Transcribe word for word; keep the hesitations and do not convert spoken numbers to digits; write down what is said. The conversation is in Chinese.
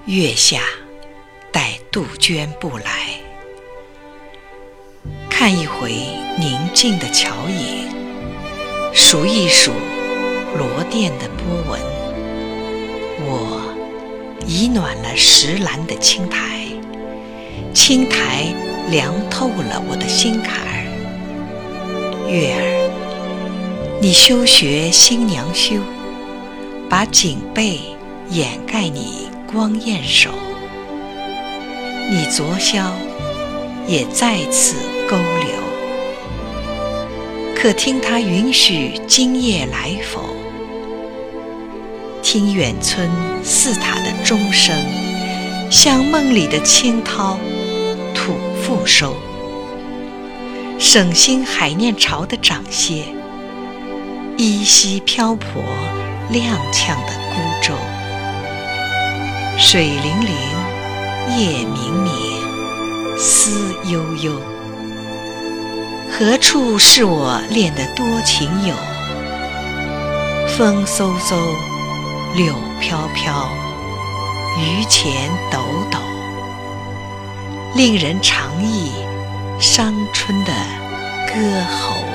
月下待杜鹃不来，看一回宁静的桥影，数一数罗甸的波纹。我已暖了石栏的青苔，青苔凉透了我的心坎儿。月儿，你休学新娘羞，把锦被掩盖你光艳手。你昨宵也在此勾留，可听他允许今夜来否？听远村寺塔的钟声，像梦里的清涛吐复收。省心海念潮的掌歇，依稀漂泊踉跄的孤舟。水灵灵，夜冥冥，思悠悠。何处是我恋的多情友？风嗖嗖，柳飘飘，榆钱抖抖，令人长忆伤春的歌喉。